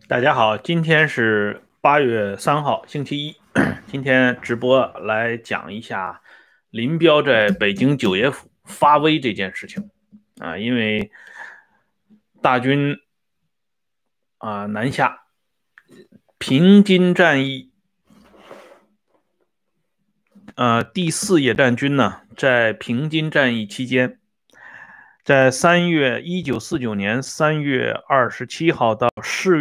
大家好，今天是8月3号，星期一。今天直播来讲一下林彪在北京九爷府发威这件事情啊。因为大军南下，平津战役，第四野战军呢在平津战役期间，在1949年3月27号到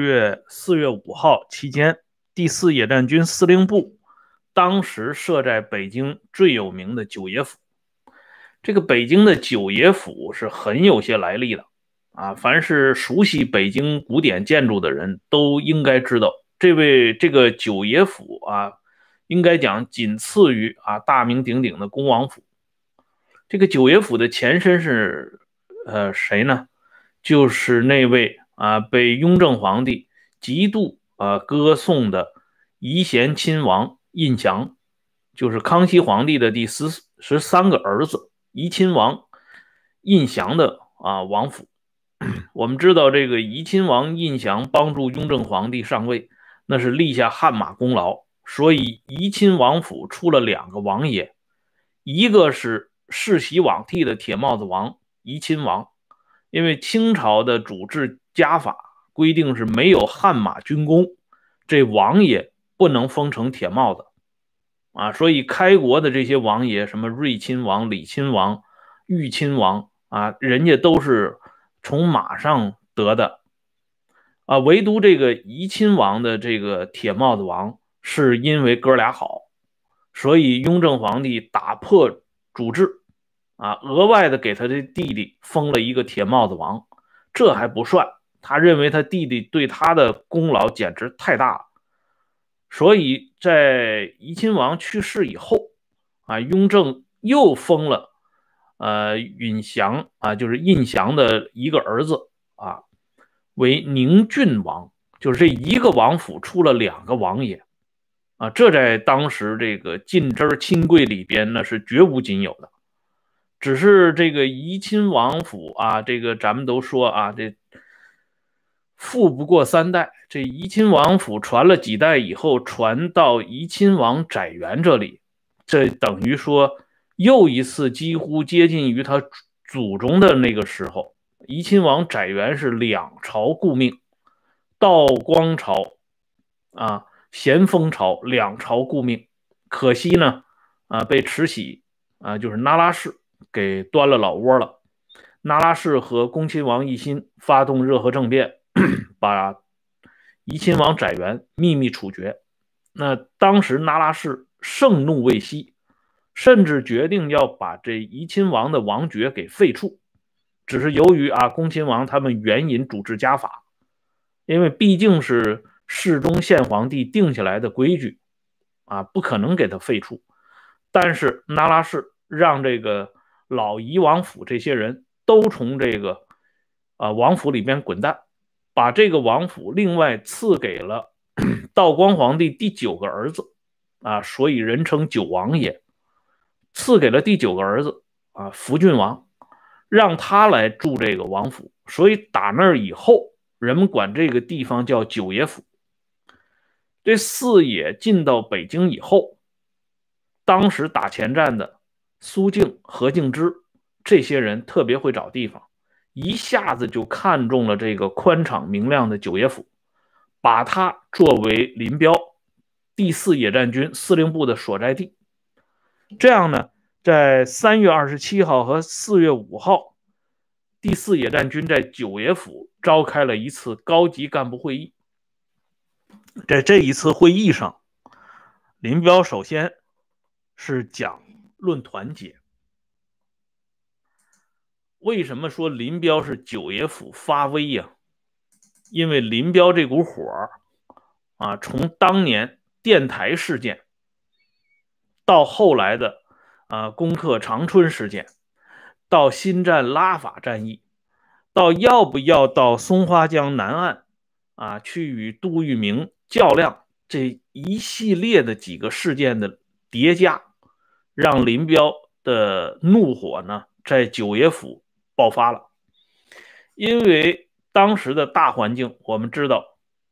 4月5号期间，第四野战军司令部当时设在北京最有名的九爷府。这个北京的九爷府是很有些来历的啊，凡是熟悉北京古典建筑的人都应该知道，这个九爷府啊，应该讲仅次于大名鼎鼎的恭王府。这个九爷府的前身是谁呢？就是那位被雍正皇帝极度歌颂的仪贤亲王胤祥，就是康熙皇帝的第13个儿子仪亲王胤祥的王府。我们知道这个仪亲王胤祥帮助雍正皇帝上位，那是立下汗马功劳，所以仪亲王府出了2个王爷，一个是世袭罔替的铁帽子王仪亲王，因为清朝的主制家法规定是没有汗马军功，这王爷不能封成铁帽子所以开国的这些王爷，什么睿亲王、李亲王、裕亲王人家都是从马上得的唯独这个仪亲王的这个铁帽子王，是因为哥俩好，所以雍正皇帝打破主制额外的给他的弟弟封了一个铁帽子王。这还不算，他认为他弟弟对他的功劳简直太大了，所以在仪亲王去世以后雍正又封了允祥就是胤祥的一个儿子为宁郡王，就是这一个王府出了2个王爷这在当时这个近支亲贵里边呢是绝无仅有的。只是这个仪亲王府这个咱们都说这富不过3代，这仪亲王府传了几代以后，传到仪亲王载元这里，这等于说又一次几乎接近于他祖宗的那个时候。仪亲王载元是2朝顾命，道光朝咸丰朝2朝顾命，可惜呢被慈禧就是那拉氏给端了老窝了。那拉氏和恭亲王奕欣发动热河政变，把仪亲王载元秘密处决。那当时那拉氏盛怒未息，甚至决定要把这仪亲王的王爵给废除。只是由于恭亲王他们援引主治家法，因为毕竟是世宗宪皇帝定下来的规矩不可能给他废除。但是那拉氏让这个老仪王府这些人都从这个王府里边滚蛋，把这个王府另外赐给了道光皇帝第9个儿子所以人称九王爷，赐给了第9个儿子福郡王，让他来住这个王府。所以打那儿以后，人们管这个地方叫九爷府。这四野进到北京以后，当时打前站的苏敬、何敬之这些人特别会找地方，一下子就看中了这个宽敞明亮的九爷府，把它作为林彪第四野战军司令部的所在地。这样呢，在3月27号和4月5号，第四野战军在九爷府召开了一次高级干部会议。在这一次会议上，林彪首先是讲论团结。为什么说林彪是九爷府发威呀？因为林彪这股火从当年电台事件到后来的攻克长春事件，到新战拉法战役，到要不要到松花江南岸去与杜聿明较量，这一系列的几个事件的叠加，让林彪的怒火呢在九爷府爆发了。因为当时的大环境我们知道，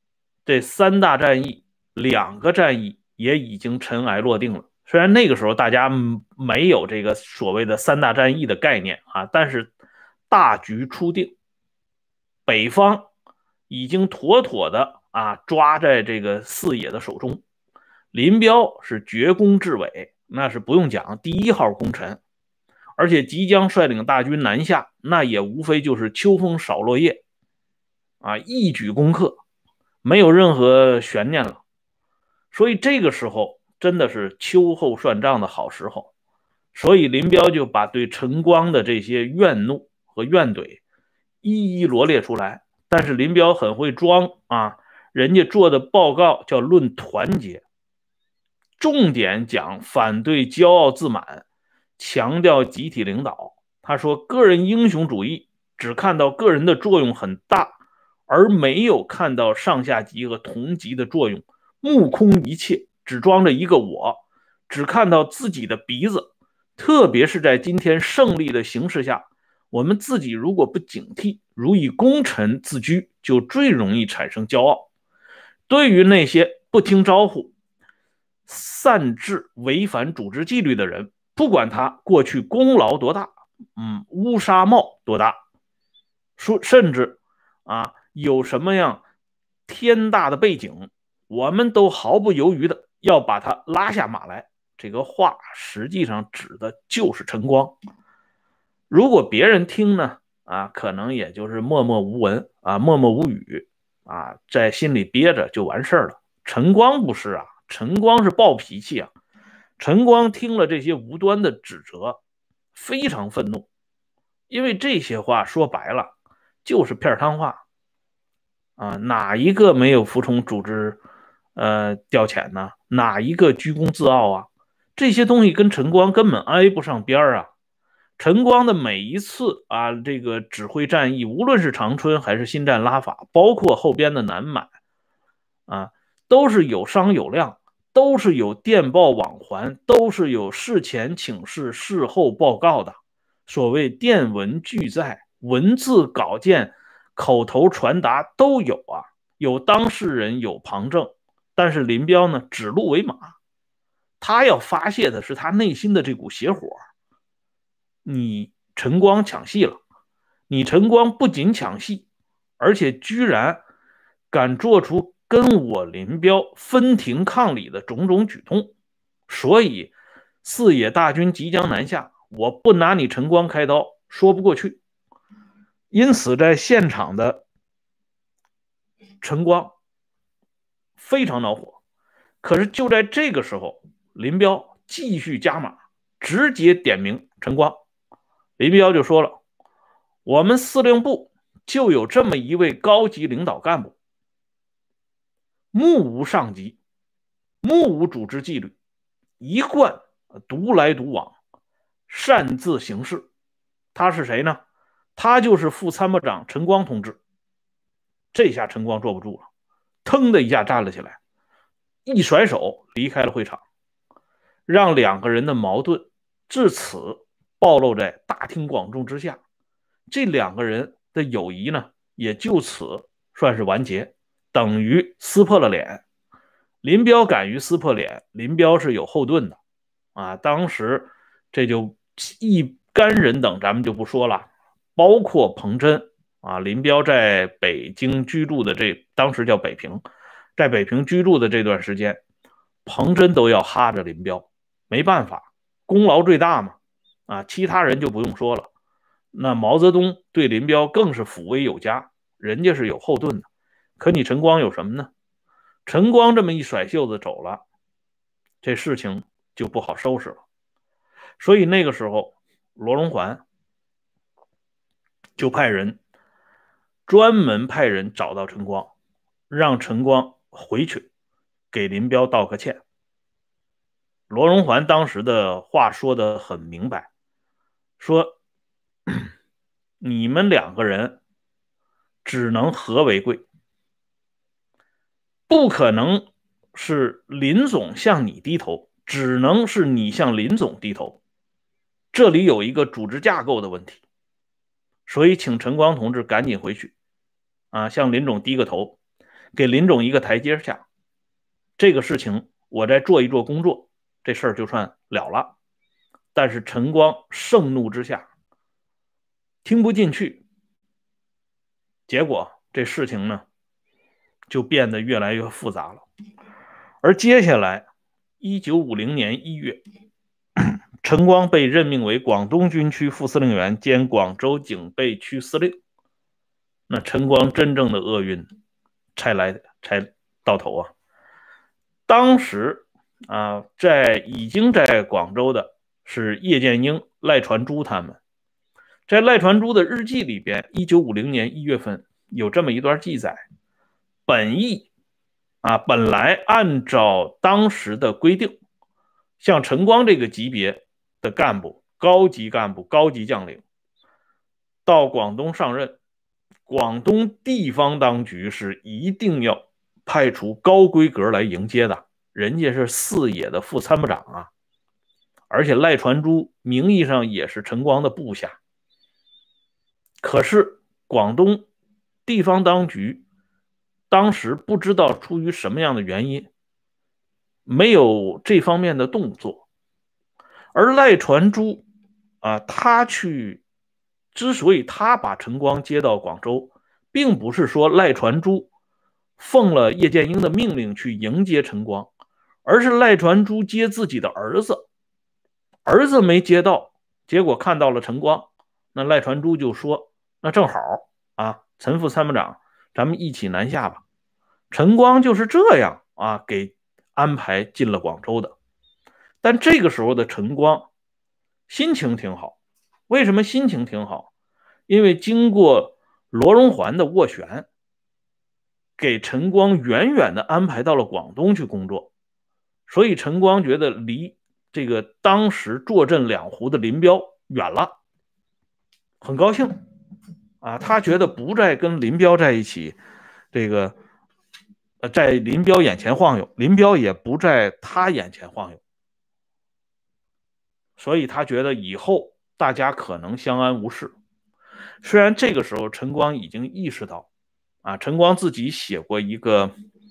这3大战役2个战役也已经尘埃落定了。虽然那个时候大家没有这个所谓的3大战役的概念啊，但是大局初定，北方已经妥妥的抓在这个四野的手中。林彪是绝功至伟，那是不用讲，第1号功臣，而且即将率领大军南下，那也无非就是秋风扫落叶一举攻克，没有任何悬念了。所以这个时候真的是秋后算账的好时候，所以林彪就把对陈光的这些怨怒和怨怼一一罗列出来。但是林彪很会装人家做的报告叫论团结，重点讲反对骄傲自满，强调集体领导。他说个人英雄主义只看到个人的作用很大，而没有看到上下级和同级的作用，目空一切，只装着一个我，只看到自己的鼻子。特别是在今天胜利的形势下，我们自己如果不警惕，如以功臣自居，就最容易产生骄傲。对于那些不听招呼、擅自违反组织纪律的人，不管他过去功劳多大，乌纱帽多大，甚至有什么样天大的背景，我们都毫不犹豫的要把他拉下马来。这个话实际上指的就是陈光。如果别人听呢可能也就是默默无闻默默无语在心里憋着就完事了。陈光不是陈光是暴脾气陈光听了这些无端的指责，非常愤怒，因为这些话说白了就是片汤话哪一个没有服从组织调遣呢？哪一个居功自傲这些东西跟陈光根本挨不上边陈光的每一次这个指挥战役，无论是长春还是新战拉法，包括后边的南满都是有商有量，都是有电报往还，都是有事前请示、事后报告的。所谓电文俱在，文字稿件、口头传达都有有当事人，有旁证。但是林彪呢，指鹿为马，他要发泄的是他内心的这股邪火。你陈光抢戏了，你陈光不仅抢戏，而且居然敢做出跟我林彪分庭抗礼的种种举动，所以四野大军即将南下，我不拿你陈光开刀说不过去。因此在现场的陈光非常恼火。可是就在这个时候，林彪继续加码，直接点名陈光。林彪就说了，我们司令部就有这么一位高级领导干部，目无上级，目无组织纪律，一贯独来独往，擅自行事。他是谁呢？他就是副参谋长陈光同志。这下陈光坐不住了，腾的一下站了起来，一甩手离开了会场，让2个人的矛盾至此暴露在大庭广众之下。这2个人的友谊呢，也就此算是完结，等于撕破了脸。林彪敢于撕破脸，林彪是有后盾的当时这就一干人等咱们就不说了，包括彭真林彪在北京居住的当时叫北平，在北平居住的这段时间，彭真都要哈着林彪，没办法，功劳最大嘛其他人就不用说了。那毛泽东对林彪更是抚慰有加，人家是有后盾的。可你陈光有什么呢？陈光这么一甩袖子走了，这事情就不好收拾了。所以那个时候罗荣桓就专门派人找到陈光，让陈光回去给林彪道个歉。罗荣桓当时的话说得很明白，说你们2个人只能和为贵，不可能是林总向你低头，只能是你向林总低头。这里有一个组织架构的问题，所以请陈光同志赶紧回去向林总低个头。 给林总一个台阶下，这个事情我再做一做工作，这事儿就算了了。但是陈光盛怒之下听不进去，结果这事情呢就变得越来越复杂了。而接下来1950年1月，陈光被任命为广东军区副司令员兼广州警备区司令。那陈光真正的厄运才到头啊！当时已经在广州的是叶剑英、赖传珠他们。在赖传珠的日记里边，1950年1月份有这么一段记载：本来按照当时的规定，像陈光这个级别的干部、高级干部、高级将领到广东上任，广东地方当局是一定要派出高规格来迎接的，人家是四野的副参谋长啊，而且赖传珠名义上也是陈光的部下。可是广东地方当局当时不知道出于什么样的原因，没有这方面的动作。而赖传珠之所以他把陈光接到广州，并不是说赖传珠奉了叶剑英的命令去迎接陈光，而是赖传珠接自己的儿子，儿子没接到，结果看到了陈光，那赖传珠就说：“那正好陈副参谋长，咱们一起南下吧。”陈光就是这样给安排进了广州的。但这个时候的陈光心情挺好，为什么心情挺好？因为经过罗荣桓的斡旋，给陈光远远的安排到了广东去工作，所以陈光觉得离这个当时坐镇两湖的林彪远了，很高兴他觉得不再跟林彪在一起，在林彪眼前晃悠，林彪也不在他眼前晃悠，所以他觉得以后大家可能相安无事。虽然这个时候陈光已经意识到陈光自己写过一个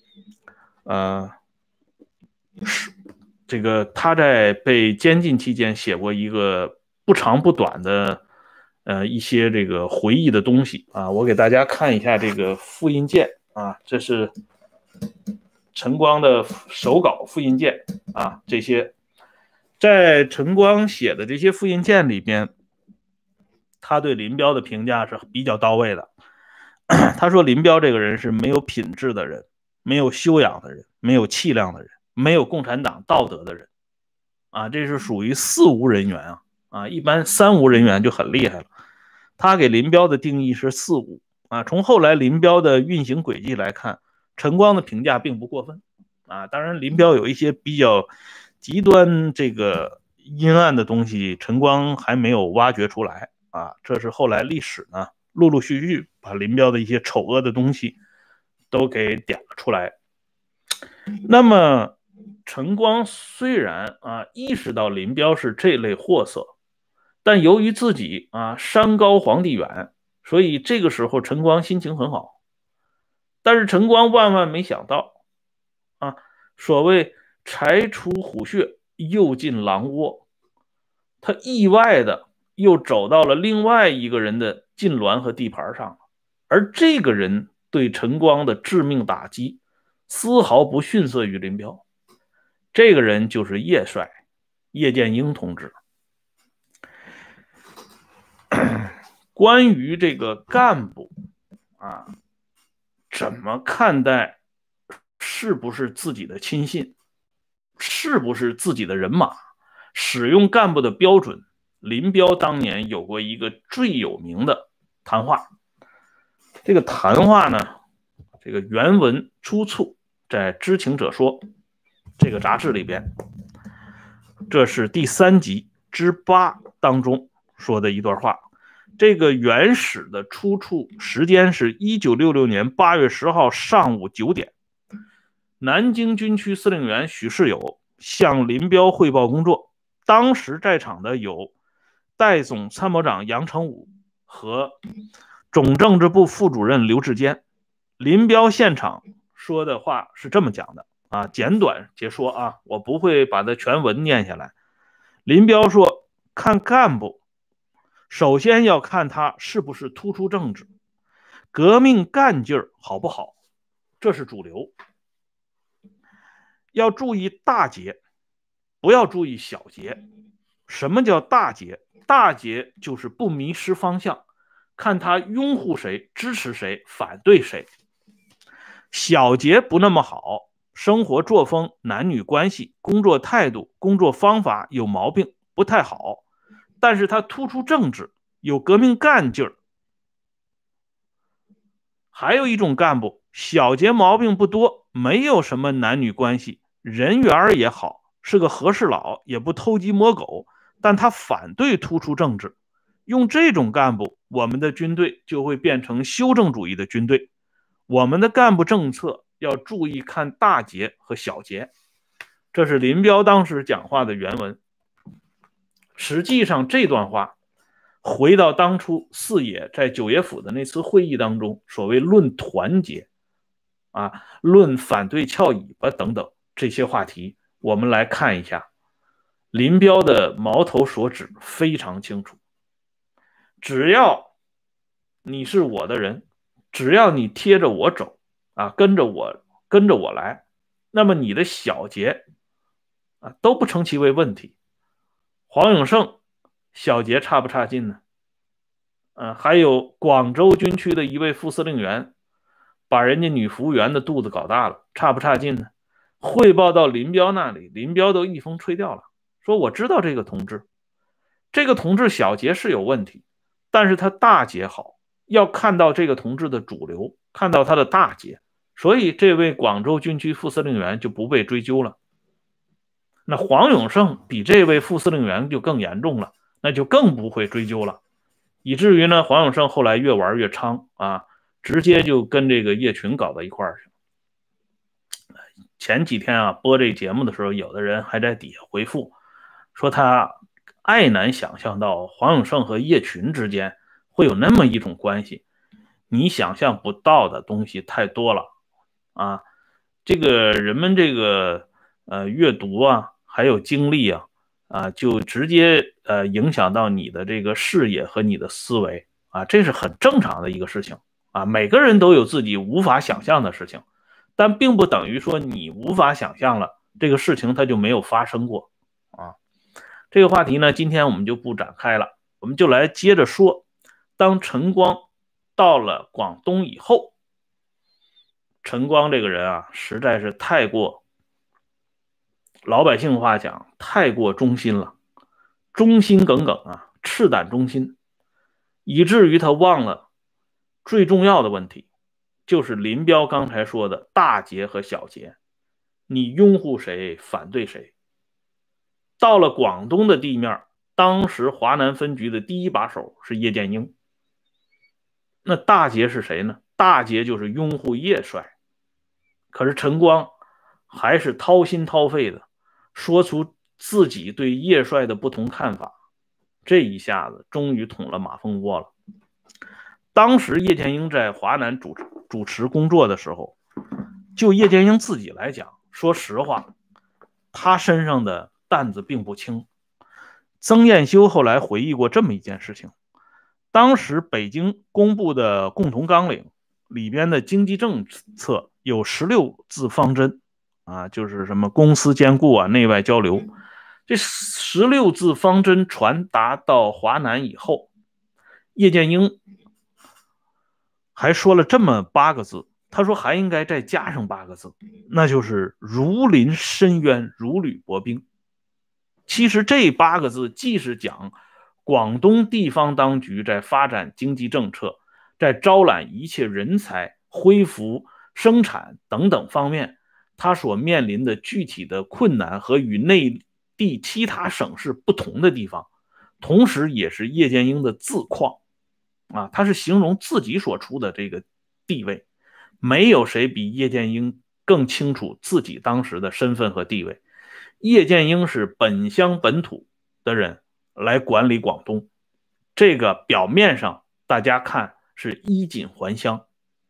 他在被监禁期间写过一个不长不短的一些这个回忆的东西我给大家看一下这个复印件这是陈光的手稿复印件这些在陈光写的这些复印件里边，他对林彪的评价是比较到位的。他说林彪这个人是没有品质的人，没有修养的人，没有气量的人，没有共产党道德的人这是属于四无人员一般三无人员就很厉害了。他给林彪的定义是四无从后来林彪的运行轨迹来看，陈光的评价并不过分当然林彪有一些比较极端这个阴暗的东西，陈光还没有挖掘出来这是后来历史呢陆陆续续把林彪的一些丑恶的东西都给点了出来。那么陈光虽然意识到林彪是这类货色，但由于自己山高皇帝远，所以这个时候陈光心情很好。但是陈光万万没想到所谓柴出虎穴又进狼窝，他意外的又走到了另外一个人的禁臠和地盘上，而这个人对陈光的致命打击丝毫不逊色于林彪。这个人就是叶帅，叶剑英同志。关于这个干部怎么看待是不是自己的亲信，是不是自己的人马，使用干部的标准，林彪当年有过一个最有名的谈话。这个谈话呢，这个原文出处在《知情者说》这个杂志里边，这是第3集之8当中说的一段话。这个原始的出处时间是1966年8月10号上午9点，南京军区司令员许世友向林彪汇报工作，当时在场的有代总参谋长杨成武和总政治部副主任刘志坚。林彪现场说的话是这么讲的啊，简短截说啊，我不会把它全文念下来。林彪说，看干部，首先要看他是不是突出政治，革命干劲儿好不好，这是主流。要注意大节，不要注意小节。什么叫大节？大节就是不迷失方向，看他拥护谁、支持谁、反对谁。小节不那么好，生活作风、男女关系、工作态度、工作方法有毛病，不太好。但是他突出政治，有革命干劲儿。还有一种干部，小节毛病不多，没有什么男女关系，人缘也好，是个和事佬，也不偷鸡摸狗，但他反对突出政治。用这种干部，我们的军队就会变成修正主义的军队。我们的干部政策要注意看大节和小节。这是林彪当时讲话的原文。实际上这段话回到当初四野在九爷府的那次会议当中，所谓论团结啊，论反对翘尾巴等等这些话题，我们来看一下。林彪的矛头所指非常清楚，只要你是我的人，只要你贴着我走啊，跟着我来，那么你的小节啊都不成其为问题。黄永胜小节差不差劲呢？还有广州军区的一位副司令员，把人家女服务员的肚子搞大了，差不差劲呢？汇报到林彪那里，林彪都一风吹掉了，说我知道这个同志，这个同志小节是有问题，但是他大节好，要看到这个同志的主流，看到他的大节，所以这位广州军区副司令员就不被追究了。那黄永胜比这位副司令员就更严重了，那就更不会追究了，以至于呢，黄永胜后来越玩越猖啊，直接就跟这个叶群搞到一块儿去。前几天啊播这节目的时候，有的人还在底下回复说他爱难想象到黄永胜和叶群之间会有那么一种关系，你想象不到的东西太多了啊！这个人们这个阅读啊，还有经历啊，就直接影响到你的这个视野和你的思维啊，这是很正常的一个事情啊。每个人都有自己无法想象的事情，但并不等于说你无法想象了，这个事情它就没有发生过啊。这个话题呢，今天我们就不展开了，我们就来接着说。当陈光到了广东以后，陈光这个人啊，实在是太过，老百姓话讲，太过忠心了，忠心耿耿啊，赤胆忠心，以至于他忘了最重要的问题，就是林彪刚才说的大节和小节，你拥护谁，反对谁。到了广东的地面，当时华南分局的第一把手是叶剑英。那大节是谁呢？大节就是拥护叶帅。可是陈光还是掏心掏肺的说出自己对叶帅的不同看法，这一下子终于捅了马蜂窝了。当时叶剑英在华南主持工作的时候，就叶剑英自己来讲，说实话，他身上的担子并不轻。曾彦修后来回忆过这么一件事情，当时北京公布的共同纲领里边的经济政策有16字方针啊，就是什么公私兼顾啊，内外交流。这16字方针传达到华南以后，叶剑英还说了这么8个字，他说还应该再加上8个字，那就是如临深渊，如履薄冰。其实这8个字既是讲广东地方当局在发展经济政策，在招揽一切人才、恢复生产等等方面，他所面临的具体的困难和与内地其他省市不同的地方，同时也是叶剑英的自况啊，他是形容自己所处的这个地位，没有谁比叶剑英更清楚自己当时的身份和地位。叶剑英是本乡本土的人来管理广东，这个表面上大家看是衣锦还乡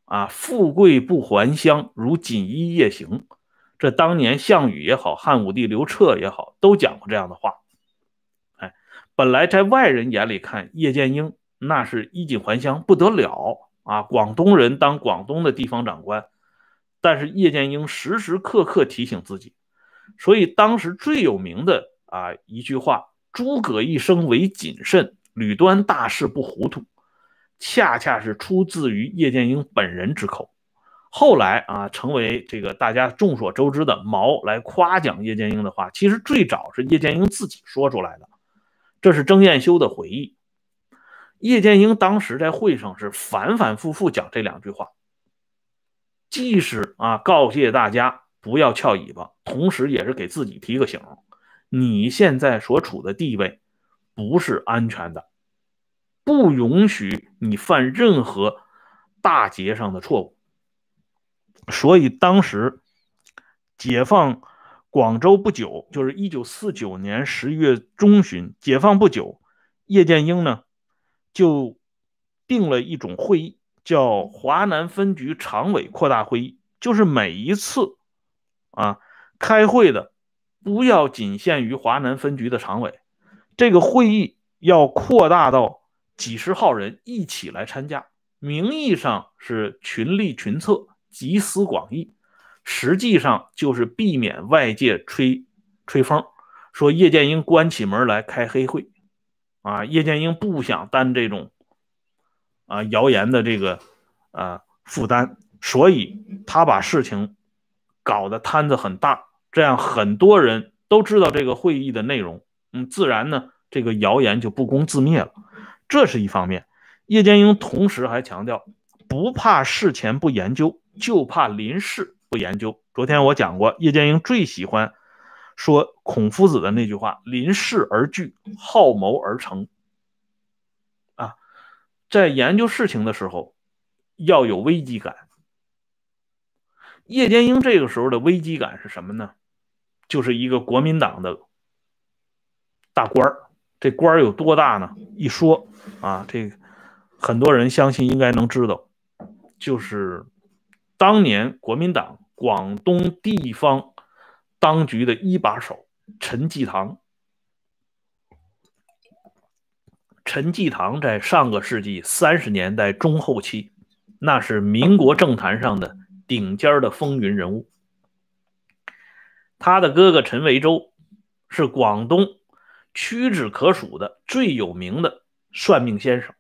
富贵不还乡，如锦衣夜行。这当年项羽也好，汉武帝刘彻也好，都讲过这样的话。本来在外人眼里看，叶剑英那是衣锦还乡不得了广东人当广东的地方长官，但是叶剑英时时刻刻提醒自己，所以当时最有名的一句话：诸葛一生为谨慎，屡端大事不糊涂，恰恰是出自于叶剑英本人之口。后来成为这个大家众所周知的毛来夸奖叶剑英的话，其实最早是叶剑英自己说出来的。这是曾彦修的回忆。叶剑英当时在会上是反反复复讲这两句话，既是告诫大家不要翘尾巴，同时也是给自己提个醒，你现在所处的地位不是安全的，不允许你犯任何大节上的错误。所以当时解放广州不久，就是1949年11月中旬，解放不久，叶剑英呢就定了一种会议，叫华南分局常委扩大会议，就是每一次开会的不要仅限于华南分局的常委，这个会议要扩大到几十号人一起来参加，名义上是群力群策，集思广益，实际上就是避免外界吹风，说叶剑英关起门来开黑会叶剑英不想担这种谣言的这个负担，所以他把事情搞得摊子很大，这样很多人都知道这个会议的内容，自然呢这个谣言就不攻自灭了。这是一方面。叶剑英同时还强调，不怕事前不研究，就怕临事不研究。昨天我讲过，叶剑英最喜欢说孔夫子的那句话：临事而惧，好谋而成。在研究事情的时候要有危机感。叶剑英这个时候的危机感是什么呢？就是一个国民党的大官儿。这官儿有多大呢？一说这个很多人相信应该能知道，就是当年国民党广东地方当局的一把手陈济棠。陈济棠在上个世纪30年代中后期，那是民国政坛上的顶尖的风云人物。他的哥哥陈维洲是广东屈指可数的最有名的算命先生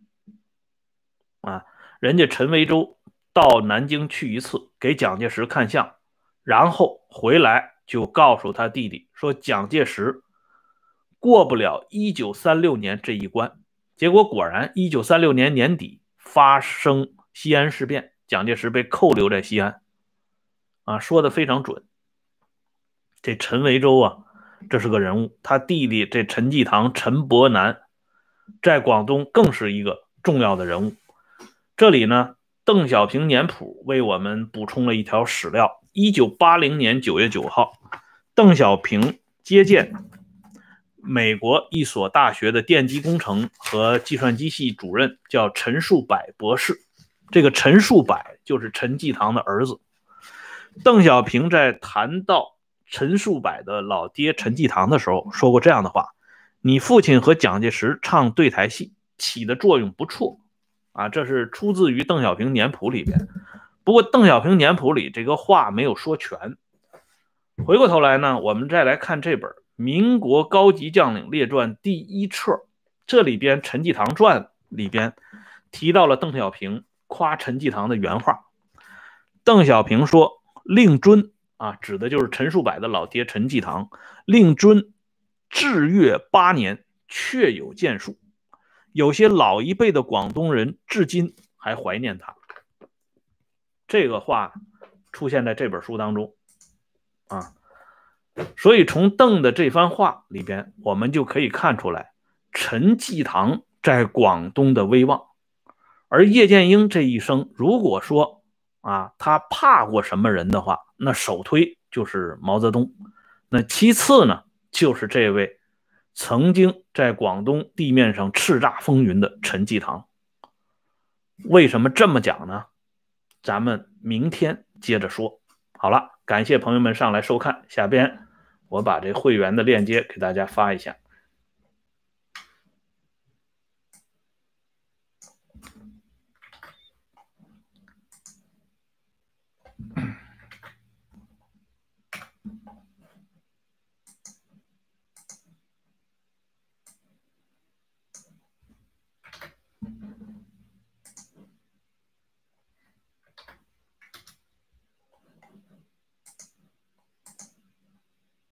人家陈维洲到南京去一次，给蒋介石看相，然后回来就告诉他弟弟说蒋介石过不了1936年这一关。结果果然1936年年底发生西安事变，蒋介石被扣留在西安说的非常准。这陈维洲这是个人物，他弟弟这陈济棠、陈伯南在广东更是一个重要的人物。这里呢，邓小平年谱为我们补充了一条史料。1980年9月9号，邓小平接见美国一所大学的电机工程和计算机系主任，叫陈树柏博士。这个陈树柏就是陈济棠的儿子。邓小平在谈到陈树柏的老爹陈济棠的时候说过这样的话：你父亲和蒋介石唱对台戏起的作用不错这是出自于邓小平年谱里边。不过邓小平年谱里这个话没有说全。回过头来呢，我们再来看这本《民国高级将领列传》第1册，这里边陈济棠传里边提到了邓小平夸陈济棠的原话。邓小平说，令尊指的就是陈树柏的老爹陈济棠，令尊至岳8年，确有建树。有些老一辈的广东人至今还怀念他。这个话出现在这本书当中所以从邓的这番话里边，我们就可以看出来陈济棠在广东的威望。而叶剑英这一生，如果说他怕过什么人的话，那首推就是毛泽东，那其次呢就是这位曾经在广东地面上叱咤风云的陈济棠。为什么这么讲呢？ 咱们明天接着说。好了，感谢朋友们上来收看，下边我把这会员的链接给大家发一下。